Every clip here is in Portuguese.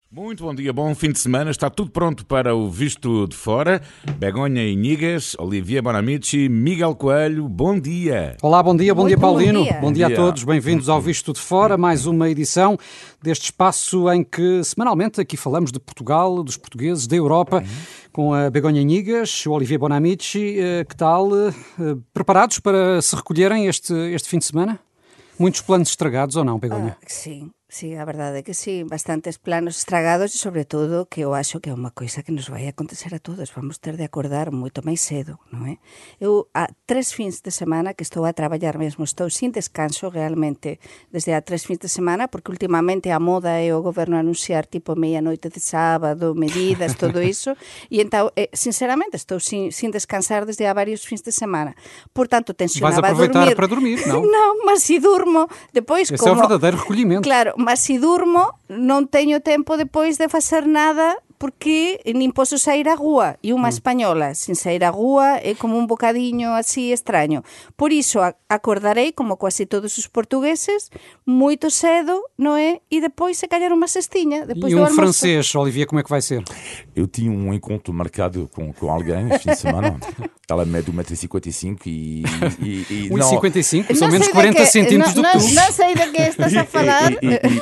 Muito bom dia, bom fim de semana. Está tudo pronto para o Visto de Fora. Begonha Inigas, Olivier Bonamici, Miguel Coelho, bom dia. Olá, bom dia Paulino. Bom dia a Bom dia. todos, bem-vindos ao Visto de Fora, mais uma edição deste espaço em que semanalmente aqui falamos de Portugal, dos portugueses, da Europa, com a Begonha Inigas, o Olivier Bonamici. Que tal? Preparados para se recolherem este fim de semana? Muitos planos estragados ou não, Begonha? Sí, a verdade é que sí, bastantes planos estragados e, sobre todo, que eu acho que é unha coisa que nos vai acontecer a todos. Vamos ter de acordar moito máis cedo, non é? Eu, há 3 fins de semana que estou a traballar mesmo, estou sin descanso realmente desde há 3 fins de semana, porque últimamente a moda é o goberno anunciar tipo meia-noite de sábado, medidas, todo iso, e então, sinceramente, estou sin descansar desde há varios fins de semana. Portanto, tensionaba Vais aproveitar dormir. para dormir, não? Non, mas se durmo, depois Esse como... é o verdadeiro recolhimento. Claro, mas se durmo, non teño tempo depois de facer nada porque nin posso sair á rúa. E unha española sin sair á rúa é como un bocadiño así extraño. Por iso acordarei, como quase todos os portugueses, moito cedo, non é? E depois se calhar unha cestiña. Depois E do um almoço. francês, Olivier, como é que vai ser? Eu tinha um encontro marcado com alguém este fim de semana. Ela mede 1,55 m e 1,55 são Não menos sei 40 de que- centímetros do que tu. Não sei de que estás a falar.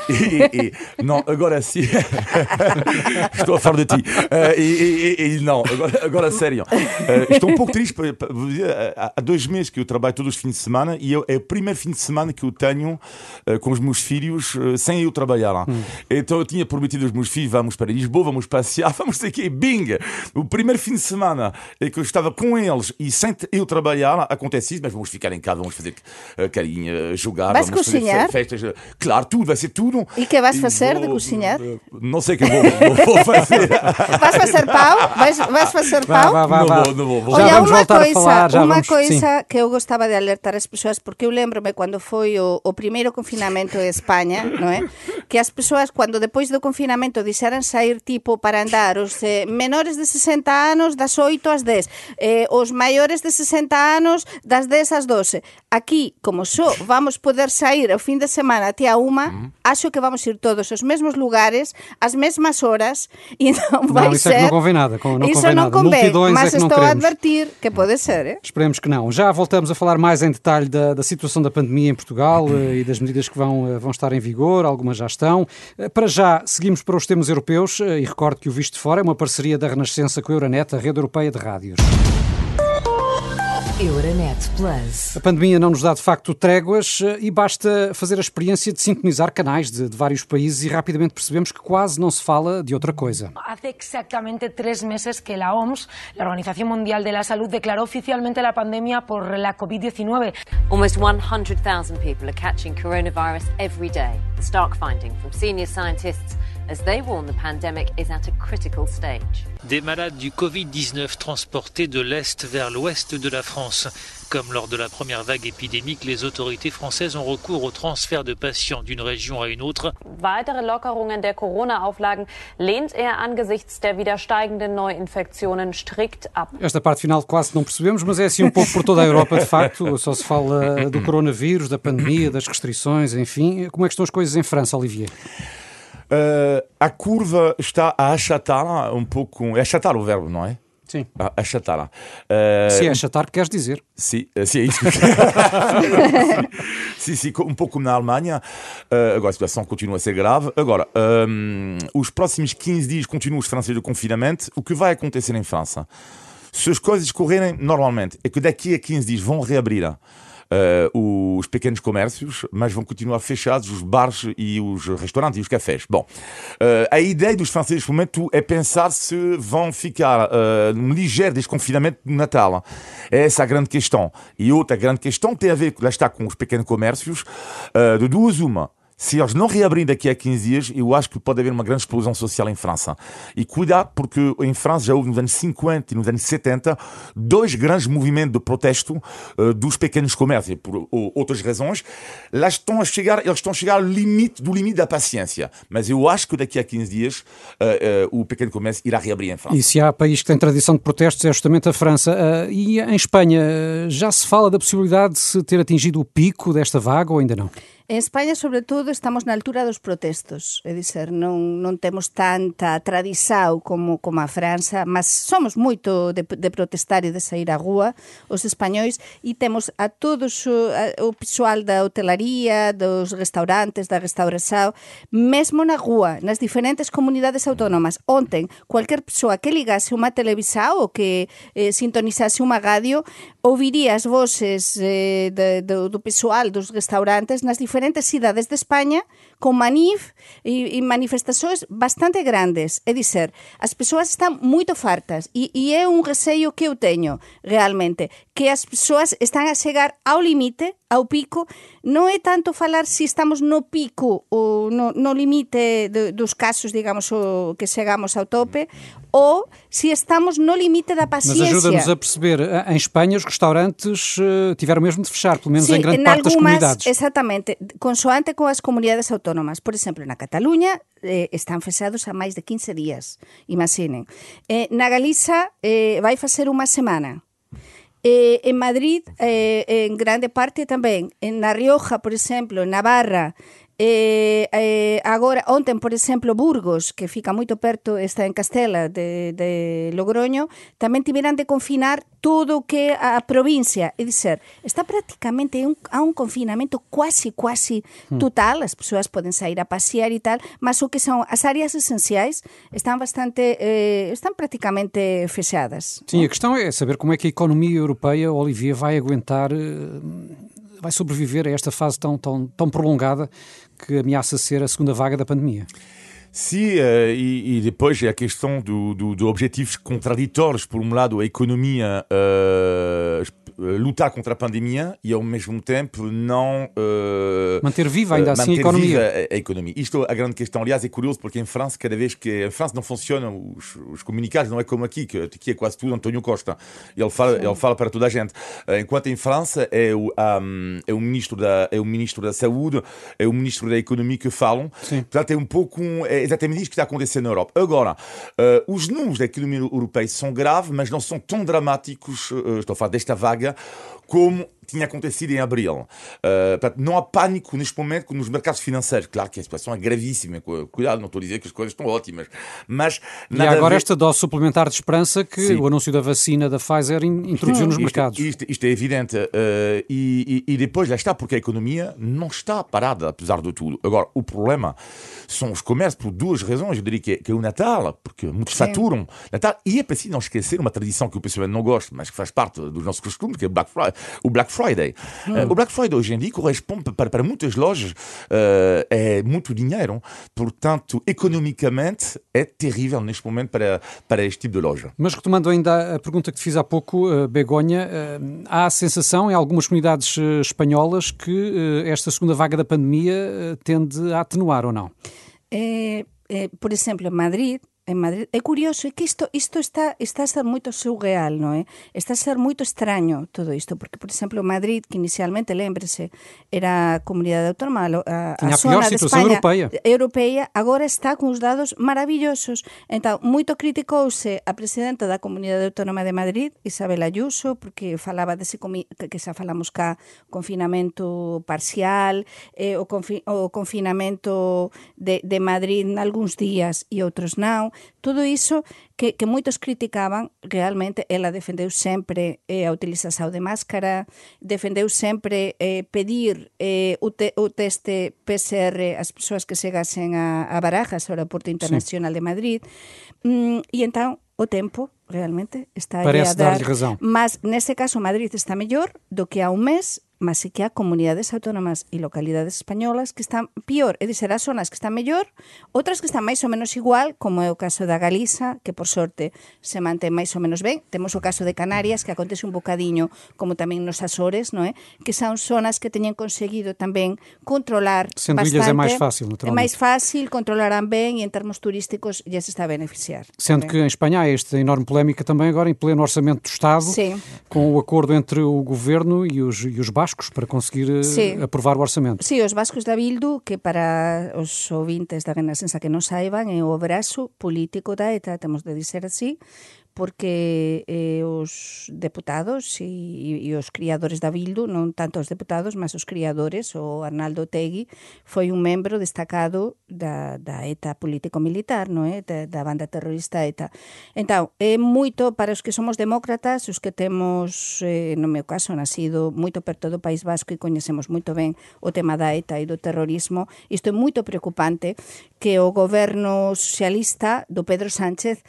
Não, agora sim. Estou a falar de ti. Não, agora sério. Estou um pouco triste. Há 2 meses que eu trabalho todos os fins de semana e é o primeiro fim de semana que eu tenho com os meus filhos sem eu trabalhar. Então eu tinha prometido aos meus filhos: vamos para Lisboa, vamos passear, vamos ter que bing! O primeiro fim de semana é que eu estava com eles e sem eu trabalhar, acontece isso, mas vamos ficar em casa, vamos fazer carinha, jogar, Vais vamos cozinhar? fazer festas. Claro, tudo, vai ser tudo. E que vais fazer de cozinhar? Não sei o que vou fazer. Vais fazer pão? Vais fazer pão? Vá. Não vou. Já Olha, vamos uma voltar coisa, a falar. Já uma vamos, coisa que eu gostava de alertar as pessoas, porque eu lembro-me quando foi o primeiro confinamento em Espanha, não é? Que as pessoas, quando depois do confinamento disseram sair tipo para andar, os menores de 60 anos das 8 às 10, os maiores de 60 anos das 10 às 12. Aqui, como só vamos poder sair ao fim de semana até a 1, acho que vamos ir todos aos mesmos lugares, às mesmas horas, e não vai Não, isso ser... é que não convém nada. Isso não convém, Multidões mas é que não estou a queremos. advertir que pode ser, Esperemos que não. Já voltamos a falar mais em detalhe da situação da pandemia em Portugal e das medidas que vão estar em vigor, algumas já estão. Para já, seguimos para os temas europeus e recordo que o Visto de Fora é uma parceria da Renascença com a Euronet, a rede europeia de rádios. Euronet Plus. A pandemia não nos dá de facto tréguas e basta fazer a experiência de sintonizar canais de vários países e rapidamente percebemos que quase não se fala de outra coisa. Hace exactamente 3 meses que la OMS, la Organización Mundial de la Salud, declaró oficialmente la pandemia por la COVID-19. Almost 100,000 people are catching coronavirus every day. The stark finding from senior scientists as they warn the pandemic is at a critical stage. Des malades du Covid-19 transportés de l'Est vers l'Ouest de la France. Comme lors de la première vague épidémique, les autorités françaises ont recours au transfert de patients d'une région à une autre. Weitere Lockerungen der Corona-Auflagen lehnt er angesichts der wieder steigenden Neuinfektionen strikt ab. Esta parte final quase não percebemos, mas é assim um pouco por toda a Europa, de facto. Só se fala do coronavírus, da pandemia, das restrições, enfim. Como é que estão as coisas em França, Olivier? A curva está a achatar um pouco. É achatar o verbo, não é? Sim. Achatar. Se é achatar, queres dizer? Sim, é isso. Sim, um pouco como na Alemanha. Agora a situação continua a ser grave. Agora, os próximos 15 dias continuam os franceses de confinamento. O que vai acontecer em França? Se as coisas correrem normalmente, é que daqui a 15 dias vão reabrir os pequenos comércios, mas vão continuar fechados os bares e os restaurantes e os cafés. Bom, a ideia dos franceses neste momento é pensar se vão ficar num ligeiro desconfinamento no Natal. É essa a grande questão. E outra grande questão tem a ver, lá está, com os pequenos comércios, de duas uma. Se eles não reabrirem daqui a 15 dias, eu acho que pode haver uma grande explosão social em França. E cuidado, porque em França já houve nos anos 50 e nos anos 70 2 grandes movimentos de protesto dos pequenos comércios. Por outras razões, eles estão a chegar ao limite do limite da paciência. Mas eu acho que daqui a 15 dias o pequeno comércio irá reabrir em França. E se há país que tem tradição de protestos é justamente a França. E em Espanha já se fala da possibilidade de se ter atingido o pico desta vaga ou ainda não? En España, sobre todo, estamos na altura dos protestos, é dizer, non temos tanta tradição como a França, mas somos moito de protestar e de sair á rúa, os españois, e temos a todos o pessoal da hotelaría, dos restaurantes, da restauração, mesmo na rúa, nas diferentes comunidades autónomas. Ontem, cualquier persoa que ligase unha televisão ou que sintonizase unha radio, ouviría as voces do pessoal dos restaurantes nas diferentes cidades de España con e manifestações bastante grandes. É dizer, as persoas están moito fartas e é un receio que eu teño realmente, que as persoas están a chegar ao limite, ao pico. Non é tanto falar se estamos no pico ou no limite dos casos, digamos, o que chegamos ao tope, ou se estamos no limite da paciência. Mas ajuda-nos a perceber, em Espanha os restaurantes tiveram mesmo de fechar, pelo menos em grande parte das comunidades. Exatamente, consoante com as comunidades autónomas. Por exemplo, na Cataluña están fechados há máis de 15 días, imaginen. Na Galiza vai facer unha semana. En Madrid, en grande parte tamén. Na Rioja, por exemplo, en Navarra, agora, ontem, por exemplo, Burgos, que fica moito perto, está en Castela de Logroño, tamén tiveran de confinar todo o que a provincia, é dizer, está prácticamente a un confinamento quasi total. As persoas poden sair a pasear e tal, mas o que son as áreas esenciais están praticamente fechadas. Sim, a questão é saber como é que a economia europeia, Olivier, vai aguentar, vai sobreviver a esta fase tão prolongada que ameaça ser a segunda vaga da pandemia. Sim, e depois é a questão de objetivos contraditórios. Por um lado, a economia lutar contra a pandemia e, ao mesmo tempo, não... manter viva ainda assim a economia. Isto é a grande questão. Aliás, é curioso porque em França, cada vez que... Em França não funcionam os comunicados, não é como aqui, que aqui é quase tudo António Costa. Ele fala para toda a gente. Enquanto em França é o ministro da Saúde, é o ministro da Economia que falam. Sim. Portanto, é um pouco... É exatamente isso que está acontecendo na Europa. Agora, os números da economia europeia são graves, mas não são tão dramáticos, estou a falar desta vaga, como tinha acontecido em abril. Portanto, não há pânico neste momento nos mercados financeiros. Claro que a situação é gravíssima. Cuidado, não estou a dizer que as coisas estão ótimas. Mas e há agora esta dose suplementar de esperança que Sim. o anúncio da vacina da Pfizer introduziu nos mercados. Isto é evidente. E depois, lá está, porque a economia não está parada, apesar de tudo. Agora, o problema são os comércios por duas razões. Eu diria que é o Natal, porque muitos faturam Natal. E é preciso não esquecer uma tradição que o pessoal não gosta, mas que faz parte dos nossos costumes, que é o Black Friday. O Black Friday hoje em dia corresponde para muitas lojas é muito dinheiro, portanto economicamente é terrível neste momento para este tipo de loja. Mas retomando ainda a pergunta que te fiz há pouco, Begonha, há a sensação em algumas comunidades espanholas que esta segunda vaga da pandemia tende a atenuar ou não? Por exemplo, en Madrid, é curioso, é que isto está a ser moito surreal, non é? Está a ser moito extraño todo isto, porque, por exemplo, Madrid, que inicialmente, lembrese, era a comunidade autónoma, a zona de España europeia, agora está con os dados maravillosos. Entón, moito criticouse a presidenta da comunidade autónoma de Madrid, Isabel Ayuso, porque falaba dese que xa falamos cá, confinamento parcial, o confinamento de Madrid nalgúns días e outros non. Todo iso que moitos criticaban, realmente ela defendeu sempre a utilización de máscara, defendeu sempre pedir o teste PCR ás persoas que chegasen a Barajas, ao aeroporto internacional de Madrid, e entón o tempo realmente está a dar. Mas nese caso Madrid está mellor do que há un mes, mas sí que há comunidades autónomas e localidades españolas que están pior, é dizer, há zonas que están mellor, outras que están máis ou menos igual, como é o caso da Galiza, que por sorte se mantén máis ou menos ben. Temos o caso de Canarias, que acontece un bocadiño, como tamén nos Açores, non é? Que son zonas que teñen conseguido tamén controlar Sendo bastante. Ilhas é máis fácil, naturalmente. É máis fácil, controlarán ben e en termos turísticos já se está a beneficiar. Sendo que em Espanha há esta enorme polémica também agora em pleno orçamento do Estado, Sim. com o acordo entre o Governo e os bascos para conseguir aprovar o orçamento. Sí, os bascos da Bildu, que para os ouvintes da Renascença que non saiban, é o brazo político da ETA, temos de dizer así, porque os deputados e os criadores da Bildu, non tanto os deputados, mas os criadores, o Arnaldo Otegi, foi un membro destacado da ETA político-militar, non é? Da banda terrorista ETA. Entón, é moito para os que somos demócratas, os que temos, no meu caso, nacido moito perto do País Vasco e coñecemos moito ben o tema da ETA e do terrorismo, isto é moito preocupante que o goberno socialista do Pedro Sánchez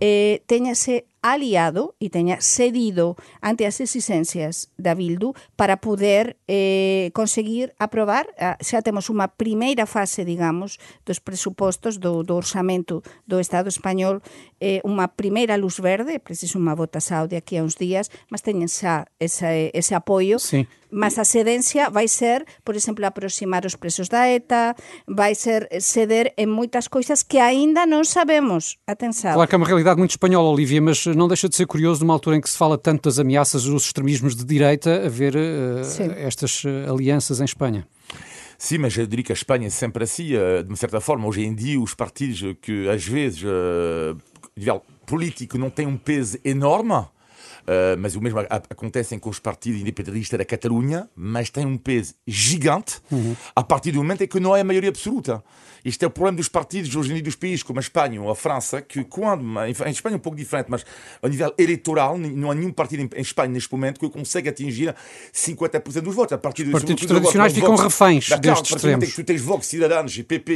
teñase aliado e teña cedido ante as exigencias da Bildu para poder conseguir aprobar, xa temos unha primeira fase, digamos, dos presupostos do orçamento do Estado español, unha primeira luz verde, preciso unha votación de aquí a uns días, mas teñen xa ese apoio. Sí. Mas a cedencia vai ser, por exemplo, aproximar os presos da ETA, vai ser ceder en moitas coisas que aínda non sabemos. Atenção. Claro que é uma realidade muito espanhola, Olívia, mas não deixa de ser curioso numa altura em que se fala tanto das ameaças dos extremismos de direita, haver estas alianças em Espanha. Sim, mas eu diria que a Espanha é sempre assim, de uma certa forma. Hoje em dia, os partidos que às vezes, nível político, não têm um peso enorme, mas o mesmo acontece com os partidos independentistas da Catalunha, mas tem um peso gigante a partir do momento em que não é a maioria absoluta. Este é o problema dos partidos hoje em dia dos países como a Espanha ou a França, que quando, em Espanha é um pouco diferente, mas a nível eleitoral não há nenhum partido em Espanha neste momento que consegue atingir 50% dos votos. Os partidos tradicionais ficam reféns destes extremos. Tu tens Vox, Cidadanos, PP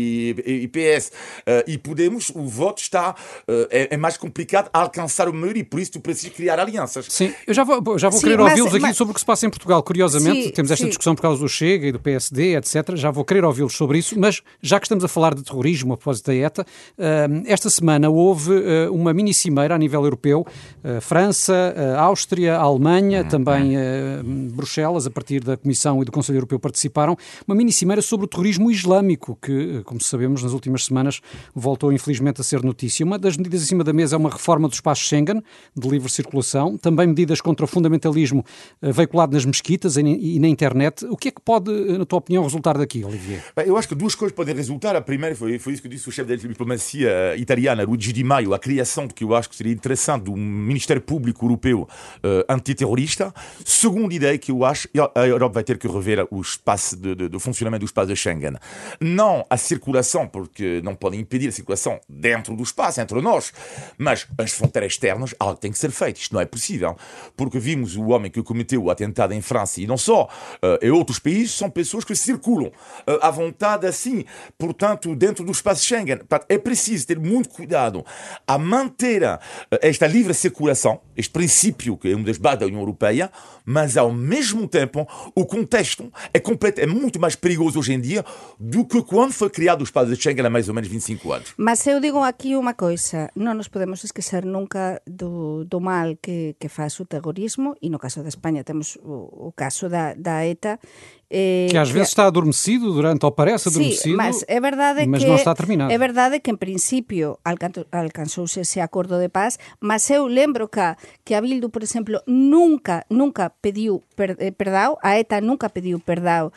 e PS e Podemos, o voto está é mais complicado a alcançar o maioria e por isso tu precisas criar alianças. Sim, eu já vou querer ouvi-los aqui sobre o que se passa em Portugal. Curiosamente, temos esta discussão por causa do Chega e do PSD, etc. Já vou querer ouvi-los sobre isso, mas já que estamos a falar de terrorismo a propósito da ETA, esta semana houve uma mini-cimeira a nível europeu, França, Áustria, Alemanha, também Bruxelas, a partir da Comissão e do Conselho Europeu participaram, uma mini-cimeira sobre o terrorismo islâmico, que, como sabemos, nas últimas semanas voltou infelizmente a ser notícia. Uma das medidas em cima da mesa é uma reforma do espaço Schengen, de livre circulação, também medidas contra o fundamentalismo veiculado nas mesquitas e na internet. O que é que pode, na tua opinião, resultar daqui, Olivier? Eu acho que duas coisas podem resultar. A primeira foi isso que disse o chefe da diplomacia italiana, Luigi Di Maio, a criação, que eu acho que seria interessante, de um Ministério Público Europeu antiterrorista. Segunda ideia que eu acho, a Europa vai ter que rever o espaço do funcionamento do espaço de Schengen. Não a circulação, porque não podem impedir a circulação dentro do espaço, entre nós, mas as fronteiras externas, algo tem que ser feito. Isto não é possível, porque vimos o homem que cometeu o atentado em França e não só, em outros países, são pessoas que circulam à vontade assim, portanto, dentro do espaço Schengen. É preciso ter muito cuidado a manter esta livre circulação, este princípio que é uma das bases da União Europeia, mas ao mesmo tempo o contexto é muito mais perigoso hoje em dia do que quando foi criado o espaço de Schengen há mais ou menos 25 anos. Mas eu digo aqui uma coisa, não nos podemos esquecer nunca do mal que faz o terrorismo, e no caso da Espanha temos o caso da ETA, que às vezes está adormecido ou parece adormecido, sim, mas é verdade mas não está terminado. É verdade que en principio alcanzouse ese acordo de paz, mas eu lembro que a Bildu, por exemplo, nunca pediu perdão, a ETA nunca pediu perdão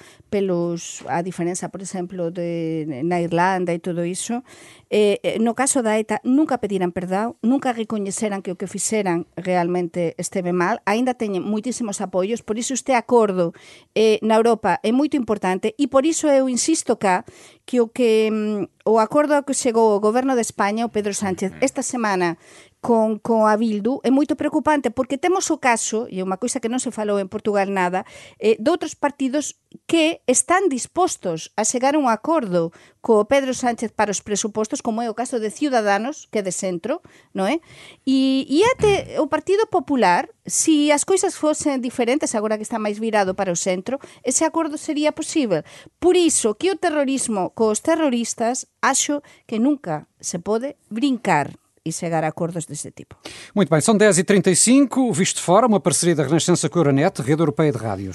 a diferença, por exemplo, na Irlanda e tudo iso. No caso da ETA nunca pediran perdão, nunca recoñeceran que o que fixeran realmente esteve mal, aínda teñen moitísimos apoios, por iso este acordo na Europa é moito importante e por iso eu insisto que o acordo ao que chegou o goberno de España, o Pedro Sánchez, esta semana con a Bildu é moito preocupante porque temos o caso, e é unha coisa que non se falou en Portugal nada, de outros partidos que están dispostos a chegar a un acordo co Pedro Sánchez para os presupostos, como é o caso de Ciudadanos, que é de centro, non é? E até o Partido Popular, se as coisas fosen diferentes, agora que está máis virado para o centro, ese acordo sería posible. Por iso que o terrorismo cos terroristas acho que nunca se pode brincar e chegar a acordos deste tipo. Muito bem, são 10h35, Visto Fora, uma parceria da Renascença com a Euronet, Rede Europeia de Rádios.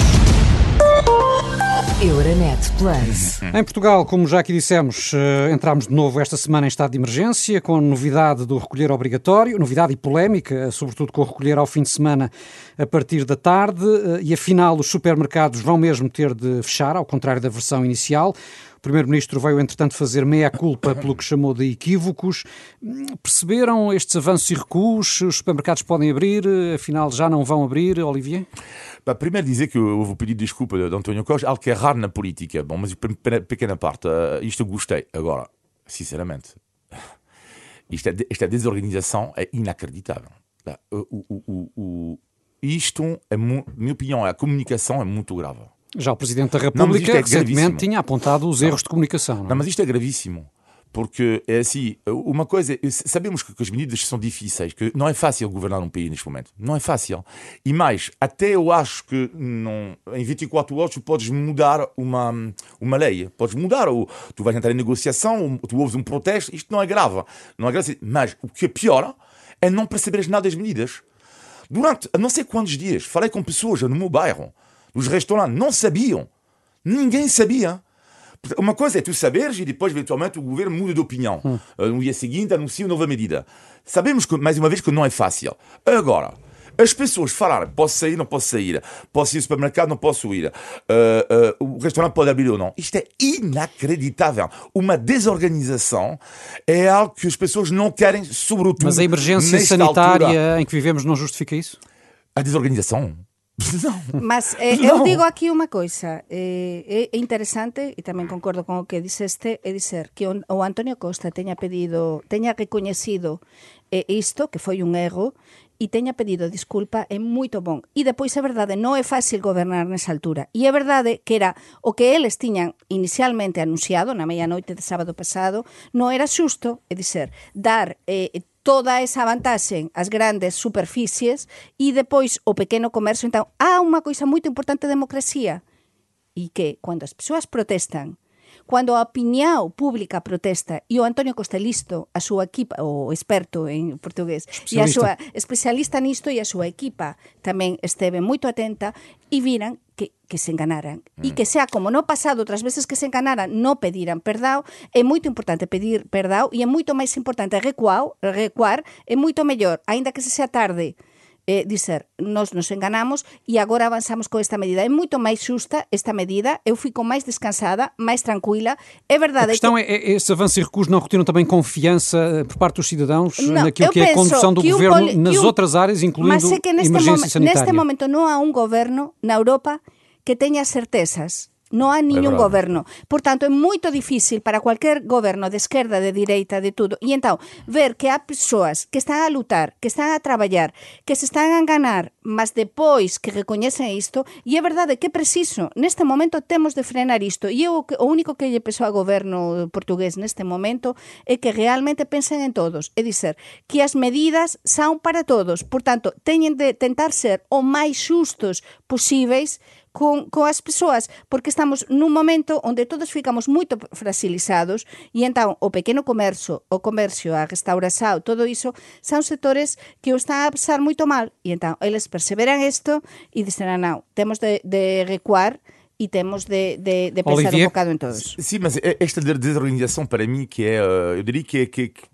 Euronet Plus. Em Portugal, como já aqui dissemos, entramos de novo esta semana em estado de emergência, com a novidade do recolher obrigatório, novidade e polémica, sobretudo com o recolher ao fim de semana a partir da tarde, e afinal os supermercados vão mesmo ter de fechar, ao contrário da versão inicial. O Primeiro-Ministro veio, entretanto, fazer meia-culpa pelo que chamou de equívocos. Perceberam estes avanços e recuos? Os supermercados podem abrir, afinal já não vão abrir, Olivier? Primeiro dizer que eu vou pedir desculpa de António Costa, algo que é raro na política. Bom, mas pequena parte, isto eu gostei. Agora, sinceramente, esta desorganização é inacreditável. Isto, minha opinião, a comunicação é muito grave. Já o Presidente da República recentemente tinha apontado os erros de comunicação. Não, mas isto é gravíssimo. Porque é assim, uma coisa, sabemos que as medidas são difíceis, que não é fácil governar um país neste momento. Não é fácil. E mais, até eu acho que em 24 horas tu podes mudar uma lei. Podes mudar, ou tu vais entrar em negociação, ou tu ouves um protesto, isto não é grave. Não é grave, mas o que é pior é não perceberes nada das medidas. Durante não sei quantos dias, falei com pessoas no meu bairro, nos restaurantes, não sabiam. Ninguém sabia. Uma coisa é tu saberes e depois, eventualmente, o governo muda de opinião. No dia seguinte, anuncia uma nova medida. Sabemos, mais uma vez, que não é fácil. Agora, as pessoas falarem, posso sair, não posso sair, posso ir ao supermercado, não posso ir, o restaurante pode abrir ou não. Isto é inacreditável. Uma desorganização é algo que as pessoas não querem, sobretudo. Mas a emergência sanitária altura. Em que vivemos não justifica isso? A desorganização? Não. Mas eu digo aqui uma coisa, é interessante, e também concordo com o que disseste, é dizer que o António Costa tenha reconhecido isto, que foi um erro, e tenha pedido desculpa, é muito bom. E depois é verdade, não é fácil governar nessa altura. E é verdade que era o que eles tinham inicialmente anunciado na meia-noite de sábado pasado, não era xusto, é dizer, dar toda esa vantaxe ás grandes superficies e depois o pequeno comercio. Então, há unha coisa moito importante da democracia e que, cando as persoas protestan, cando a opinião pública protesta e o António Costa listo, a súa equipa, o experto en portugués, e a súa especialista nisto e a súa equipa tamén esteve moito atenta e viran que se enganaran. E que sea como no pasado, outras veces que se enganaran, non pediran perdão, é moito importante pedir perdão e é moito máis importante recuar, é moito mellor, aínda que se sea tarde, dizer, nos enganamos e agora avanzamos con esta medida. É moito máis xusta esta medida, eu fico máis descansada, máis tranquila. É verdade. A questão é esses avanços e recuos não retiram também confiança por parte dos cidadãos naquilo que é a condução do governo nas outras áreas, incluindo emergência sanitária. Neste momento non há un governo na Europa que teña certezas. Non há ningún goberno. Portanto, é moito difícil para cualquier goberno de esquerda, de direita, de tudo. E então, ver que há persoas que están a lutar, que están a traballar, que se están a enganar, mas depois que recoñecen isto, e é verdade que é preciso. Neste momento temos de frenar isto. E o único que lle peso ao goberno portugués neste momento é que realmente pensen en todos. É dizer, que as medidas son para todos. Portanto, teñen de tentar ser o máis xustos posíveis con as persoas, porque estamos nun momento onde todos ficamos moito fragilizados e entón o pequeno comercio, a restauración, todo iso, son sectores que o están a pasar moito mal e entón eles perseveran isto e disserán, non, temos de recuar e temos de pensar Olivier? Un bocado en todos. Sim, mas esta desorganização para mim que é, eu diria que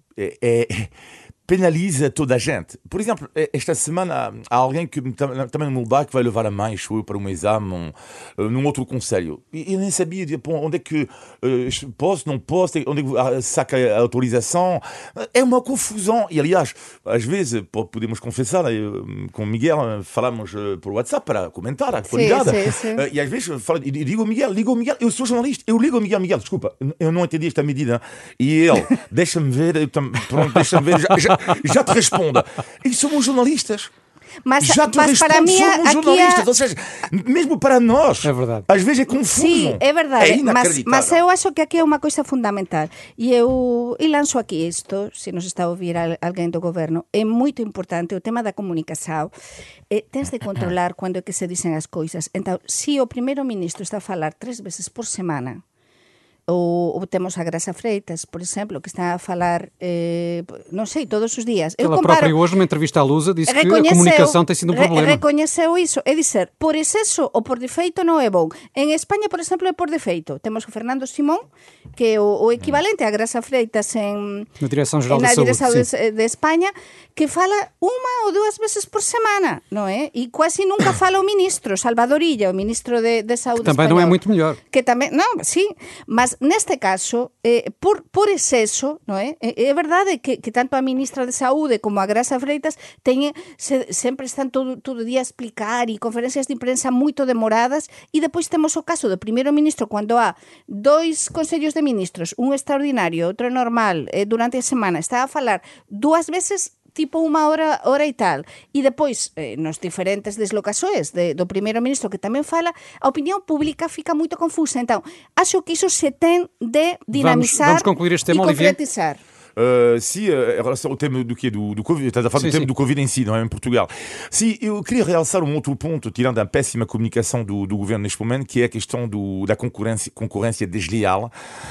penaliza toda a gente. Por exemplo, esta semana há alguém que também no meu bairro que vai levar a mãe, eu para um exame num outro concelho. E eu nem sabia onde é que posso, não posso, onde é que saca a autorização. É uma confusão. E aliás, às vezes, podemos confessar, com o Miguel falamos por WhatsApp para comentar a atualidade. Sim. E às vezes digo ao Miguel, eu sou jornalista, eu ligo ao Miguel, desculpa, eu não entendi esta medida. E ele, deixa-me ver, já te responda. E somos jornalistas. Mas para mim, somos jornalistas. Ou seja, mesmo para nós, é verdade. Às vezes é confuso. Sim, é verdade. É inacreditável. Mas eu acho que aqui é uma coisa fundamental. E lanço aqui isto, se nos está a ouvir alguém do governo, é muito importante o tema da comunicação. Tens de controlar quando é que se dizem as coisas. Então, se o primeiro-ministro está a falar 3 vezes por semana, ou temos a Graça Freitas, por exemplo, que está a falar, não sei, todos os dias. Ela própria hoje, numa entrevista à Lusa, disse que a comunicação tem sido um problema. Reconheceu isso. É dizer, por excesso ou por defeito não é bom. Em Espanha, por exemplo, é por defeito. Temos o Fernando Simón, que é o equivalente à Graça Freitas na Direção-Geral da Saúde, de Espanha, que fala 1 ou 2 vezes por semana, não é? E quase nunca fala o ministro, Salvador Illa, o ministro de Saúde que também espanhol, não é muito melhor. Que também, não, sim, mas neste caso, por exceso, non é? É verdade que tanto a ministra de Saúde como a Graça Freitas sempre están todo o día a explicar e conferencias de prensa moito demoradas, e depois temos o caso do primeiro ministro cando há 2 consellos de ministros, un extraordinario, outro normal, durante a semana, está a falar 2 veces tipo unha hora e tal, e depois nos diferentes deslocações do primeiro ministro que tamén fala, a opinión pública fica moito confusa. Então, acho que iso se ten de dinamizar vamos concluir este tema, e concretizar. Em relação ao tema do Covid, estás a falar do tema do Covid em si, não é? Em Portugal. Sim, eu queria realçar outro ponto, tirando a péssima comunicação do governo neste momento, que é a questão da concorrência desleal.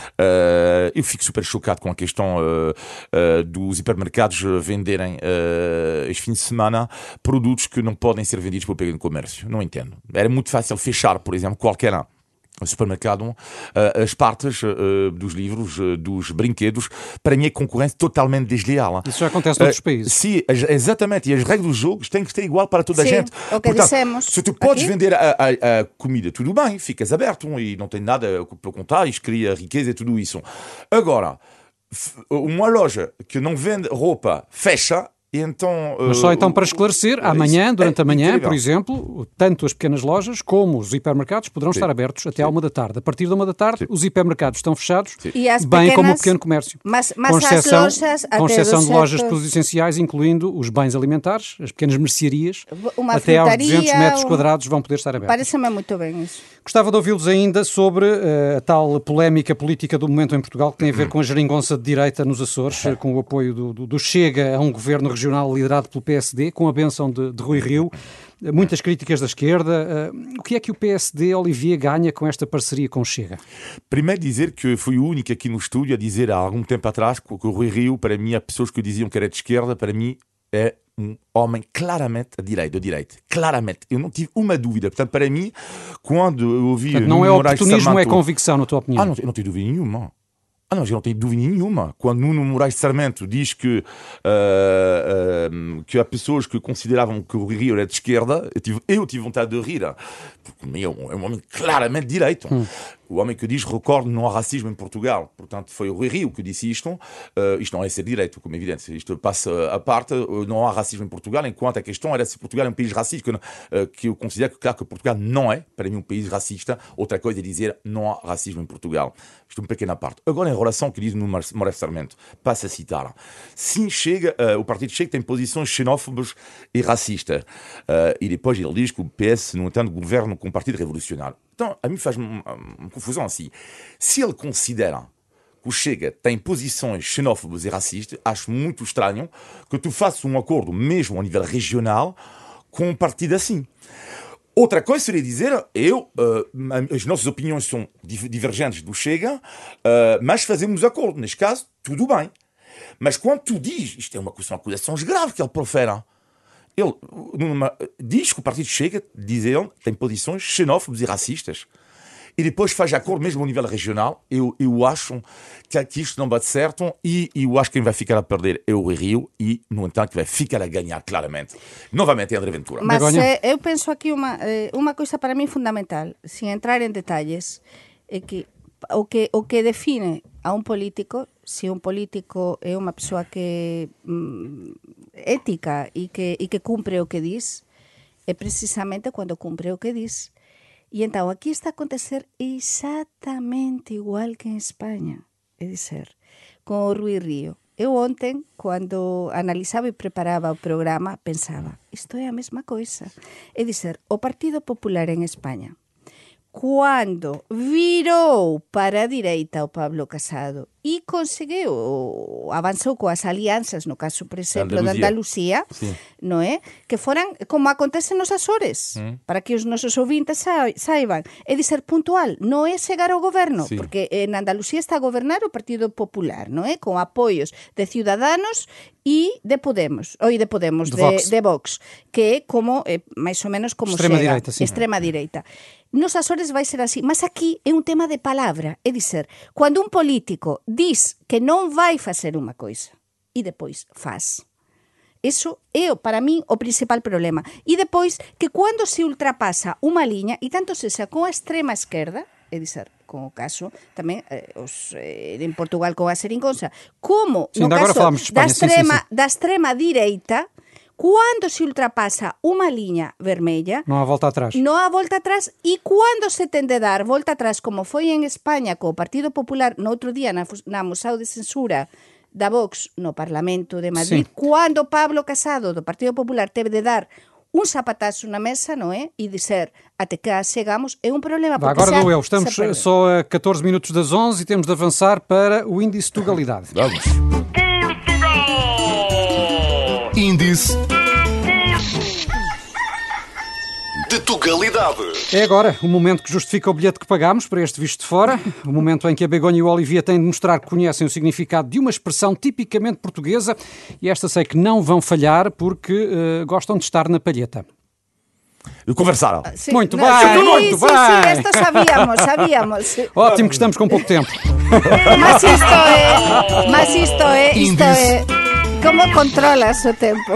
Eu fico super chocado com a questão dos hipermercados venderem este fim de semana produtos que não podem ser vendidos pelo pequeno comércio. Não entendo. Era muito fácil fechar, por exemplo, qualquer supermercado, as partes dos livros, dos brinquedos, para mim é concorrência totalmente desleal. Isso já acontece noutros países. Sim, exatamente. E as regras do jogo têm que ser igual para toda a gente. O que dissemos. Se tu podes vender a comida, tudo bem, ficas aberto e não tem nada para contar, isto cria riqueza e tudo isso. Agora, uma loja que não vende roupa fecha. Então, mas só então para esclarecer, amanhã, durante a manhã, por exemplo, tanto as pequenas lojas como os hipermercados poderão estar abertos até à 1 da tarde. A partir da 1 da tarde, os hipermercados estão fechados, bem como o pequeno comércio. Mas com exceção, as lojas, com exceção de lojas de produtos essenciais, incluindo os bens alimentares, as pequenas mercearias, até aos 200 metros quadrados vão poder estar abertos. Parece-me muito bem isso. Gostava de ouvi-los ainda sobre a tal polémica política do momento em Portugal, que tem a ver com a geringonça de direita nos Açores, com o apoio do Chega a um governo regional liderado pelo PSD, com a bênção de Rui Rio, muitas críticas da esquerda. O que é que o PSD, Olivier, ganha com esta parceria com o Chega? Primeiro dizer que fui o único aqui no estúdio a dizer há algum tempo atrás que o Rui Rio, para mim, há pessoas que diziam que era de esquerda, para mim é um homem claramente de direita. Claramente. Eu não tive uma dúvida. Portanto, para mim, quando eu ouvi... Portanto, não é oportunismo, é convicção, na tua opinião? Não, eu não tenho dúvida nenhuma. Não, eu não tenho dúvida nenhuma. Quando Nuno Moraes de Sarmento diz que há pessoas que consideravam que o Rui Rio era de esquerda, eu tive vontade de rir, porque é um homem claramente de direita. O homem que diz, recordo, não há racismo em Portugal. Portanto, foi o Rui Rio que disse isto. Isto não é ser direito, como é evidente. Isto passa à parte. Não há racismo em Portugal, enquanto a questão era se Portugal é um país racista, que eu considero que, claro, que Portugal não é, para mim, um país racista. Outra coisa é dizer não há racismo em Portugal. Isto é uma pequena parte. Agora, em relação ao que diz no Moraes Sarmento, passa a citar. Sim, o Partido Chega tem posições xenófobas e racistas. E depois ele diz que o PS, no entanto, governa com o Partido Revolucionário. Então, a mim faz uma confusão assim. Se ele considera que o Chega tem posições xenófobas e racistas, acho muito estranho que tu faças um acordo, mesmo a nível regional, com um partido assim. Outra coisa seria dizer, as nossas opiniões são divergentes do Chega, mas fazemos acordo. Neste caso, tudo bem. Mas quando tu dizes, isto é uma acusação grave que ele profere, ele diz que o Partido Chega, diz ele, tem posições xenófobas e racistas. E depois faz acordo mesmo ao nível regional. Eu acho que isto não bate certo e eu acho que quem vai ficar a perder é o Rio e, no entanto, vai ficar a ganhar claramente. Novamente é André Ventura. Mas eu penso aqui uma coisa para mim fundamental, sem entrar em detalhes, é que o que define a um político, se um político é uma pessoa que ética e que cumpre o que diz, é precisamente quando cumpre o que diz. E então aqui está a acontecer exatamente igual que em Espanha, é dizer, com o Rui Rio. Eu ontem, quando analisava e preparava o programa, pensava, isto é a mesma coisa. É dizer, o Partido Popular em Espanha, quando virou para a direita o Pablo Casado e conseguiu, avançou com as alianças, no caso, por exemplo, da Andalucía, não é? Que foram, como acontece nos Açores, para que os nossos ouvintes saibam, é de ser puntual, não é chegar ao governo, porque en Andalucía está a governar o Partido Popular, não é? Com apoios de Ciudadanos e de Podemos, de Vox, que é como, máis ou menos como extrema-direita, extrema-direita. Nos Açores vai ser así, mas aquí é un tema de palabra, é dizer, cando un político diz que non vai facer unha coisa e depois faz. Eso é, para min, o principal problema. E depois, que cando se ultrapasa unha liña, e tanto sexa con a extrema esquerda, é dizer, con o caso tamén en Portugal con a xeringonza, como Sim, no agora caso falamos de Espanha, da extrema direita, quando se ultrapasa unha liña vermella, não há volta atrás. non há volta atrás, e cando se ten de dar volta atrás, como foi en España co Partido Popular no outro día na moção de censura da Vox no Parlamento de Madrid, cando Pablo Casado do Partido Popular teve de dar un zapatazo na mesa, non é? E dizer, até cá chegamos, é um problema. Agora dou eu, estamos só a 14 minutos das 11 e temos de avançar para o índice de Tugalidade. Vamos. Índice de Tugalidade. É agora o momento que justifica o bilhete que pagámos para este Visto de Fora, o momento em que a Begonha e o Olivier têm de mostrar que conhecem o significado de uma expressão tipicamente portuguesa, e esta sei que não vão falhar porque gostam de estar na palheta. Conversaram. Sí, Muito no, bem, sí, muito sí, bem. Sí, esto sabíamos. Sí. Ótimo que estamos com pouco tempo. Mas isto é... Como controlas o tempo?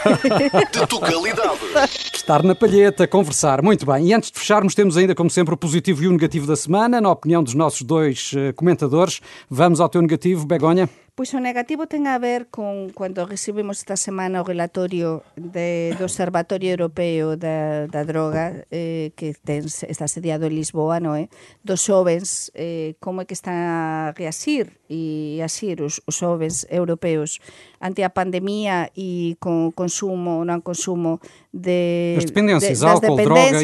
De Tugalidade. Estar na palheta, conversar. Muito bem. E antes de fecharmos, temos ainda, como sempre, o positivo e o negativo da semana. Na opinião dos nossos dois comentadores, vamos ao teu negativo, Begonha. Pois o negativo ten a ver con cando recibimos esta semana o relatorio do Observatorio Europeo da Droga que está sediado en Lisboa, non é? Dos xovens, como é que están a reasir e asir os xovens europeos ante a pandemia e con o consumo, non consumo das dependências, álcool, droga,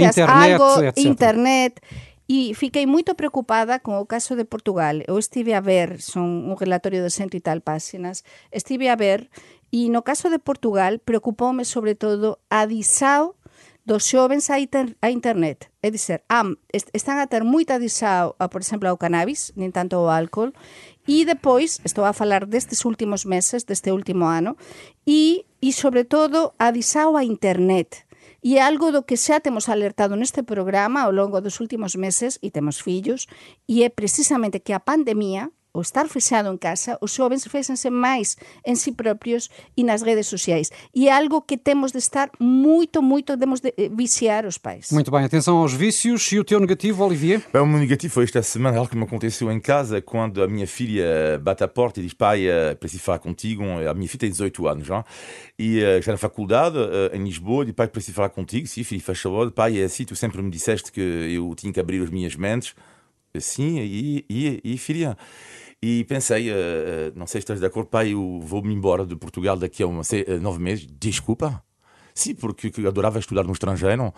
internet. E fiquei moito preocupada con o caso de Portugal. Eu estive a ver, son un relatorio de 100 e tal páxinas, estive a ver, e no caso de Portugal preocupoume sobre todo a adisao dos xovens a internet. É dizer, están a ter moita adisao, por exemplo, ao cannabis, nin tanto ao álcool, e depois, estou a falar destes últimos meses, deste último ano, e sobre todo a adisao a internet. E é algo do que xa temos alertado neste programa ao longo dos últimos meses, e temos fillos, e é precisamente que a pandemia, o estar fechado en casa, os xovens fexense máis en si propios e nas redes sociais. E é algo que temos de estar moito, temos de viciar os pais. Muito bem, atenção aos vícios. E o teu negativo, Olivier? O meu negativo foi esta semana, algo que me aconteceu em casa, quando a minha filha bate a porta e diz: pai, preciso falar contigo. A minha filha tem 18 anos já, e está na faculdade em Lisboa, e pai, preciso falar contigo. Sim, filho, faz favor. Pai, é assim, tu sempre me disseste que eu tinha que abrir as minhas mentes. Sim, e filha... E pensei, não sei se estás de acordo, pai, eu vou-me embora de Portugal daqui a 9 meses. Desculpa? Sim, porque eu adorava estudar no estrangeiro.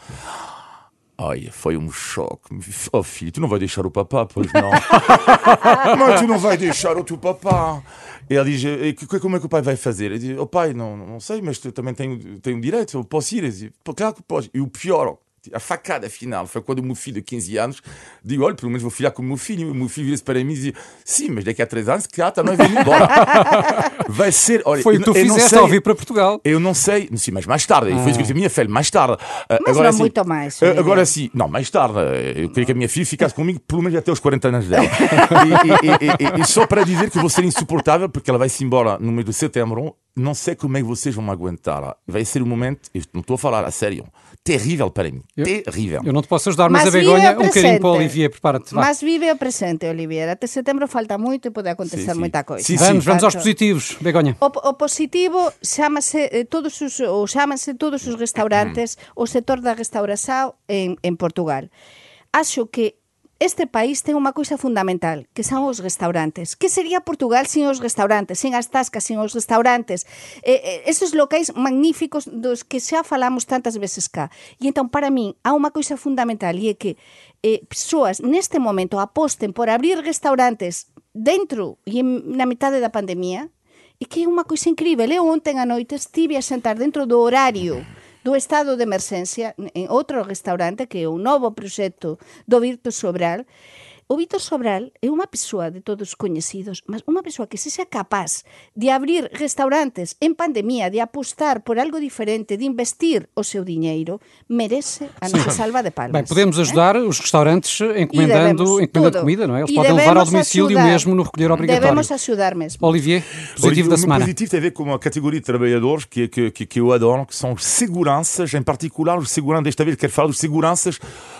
Ai, foi um choque. Oh, filho, tu não vai deixar o papá, pois não? Mas tu não vai deixar o teu papá. E ela diz: como é que o pai vai fazer? Eu digo: oh, pai, não sei, mas tu também tenho direito, eu posso ir. Eu digo: claro que podes. E o pior... A facada final foi quando o meu filho de 15 anos digo: olha, pelo menos vou ficar com o meu filho. O meu filho vira-se para mim e diz: sim, mas daqui a 3 anos, claro, também vem embora. Vai ser... Olha, foi o que tu fizeste ao vir para Portugal. Eu não sei, sim, mas mais tarde. Foi isso que eu disse a minha filha, mais tarde. Mas agora, não assim, muito mais. Agora sim, não, mais tarde. Eu queria que a minha filha ficasse comigo pelo menos até os 40 anos dela. E só para dizer que vou ser insuportável, porque ela vai-se embora no mês de setembro. Não sei como é que vocês vão me aguentar. Vai ser um momento, eu não estou a falar a sério, terrível para mim. Terrível. Eu não te posso ajudar, mas a Begonha, um bocadinho para o Olivier, prepara-te. Mas vive o presente, Olivier. Até setembro falta muito e pode acontecer muita coisa. Vamos aos positivos, Begonha. O positivo chámanse todos os restaurantes, o setor da restauração en Portugal. Acho que este país ten unha coisa fundamental, que son os restaurantes. Que sería Portugal sin os restaurantes, sin as tascas, sin os restaurantes? Esos locais magníficos dos que xa falamos tantas veces cá. E entón, para min, há unha coisa fundamental, e é que persoas neste momento aposten por abrir restaurantes dentro e na metade da pandemia, e que é unha coisa incrível. Eu ontem a noite estive a sentar dentro do horario do estado de emerxencia en outro restaurante que é o novo proxecto do Víctor Sobral. O Víctor Sobral é unha persoa de todos coñecidos, mas unha persoa que se xa capaz de abrir restaurantes en pandemia, de apostar por algo diferente, de investir o seu diñeiro, merece a nosa salva de palmas. Bem, podemos ajudar os restaurantes encomendando comida, não é? Eles podem levar ao domicílio mesmo no recolher obrigatório. Devemos ajudar mesmo. Olivier, positivo da semana. O positivo tem a ver com uma categoria de trabalhadores que eu adoro, que são os seguranças, em particular os seguranças, desta vez quero falar dos seguranças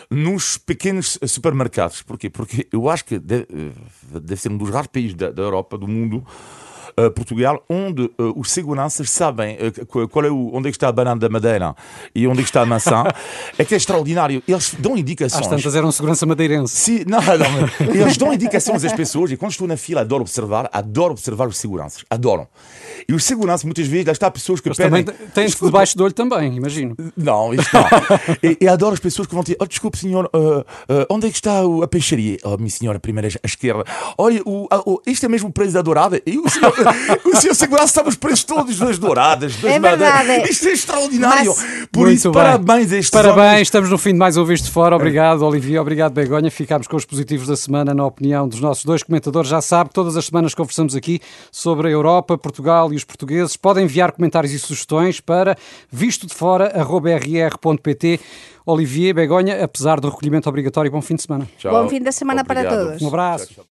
nos pequenos supermercados. Porquê? Porque eu acho que deve ser um dos raros países da Europa, do mundo, Portugal, onde os seguranças sabem onde é que está a banana da Madeira e onde é que está a maçã. É que é extraordinário. Eles dão indicações. Às tantas era um segurança madeirense. Sim, não, eles dão indicações às pessoas e quando estou na fila adoro observar os seguranças. Adoram. E os seguranças, muitas vezes, lá está pessoas que pedem... Também tens debaixo do olho também, imagino. Não, isto não. E adoro as pessoas que vão dizer, desculpe, senhor, onde é que está a peixaria? Minha senhora, primeira à esquerda. Olha, este é mesmo o preço da dourada. E o senhor segurança sabe os preços todos das douradas, das verdade. Isto é extraordinário. Por Muito isso, bem. parabéns a estes Parabéns, homens. estamos no fim de mais um Visto de Fora. Obrigado, Olivier. Obrigado, Begonha. Ficámos com os positivos da semana, na opinião dos nossos dois comentadores. Já sabe, todas as semanas conversamos aqui sobre a Europa, Portugal e os portugueses. Podem enviar comentários e sugestões para vistodefora@rr.pt. Olivier, Begonha, apesar do recolhimento obrigatório, bom fim de semana. Tchau. Bom fim de semana para Obrigado. todos. Um abraço. Tchau, tchau.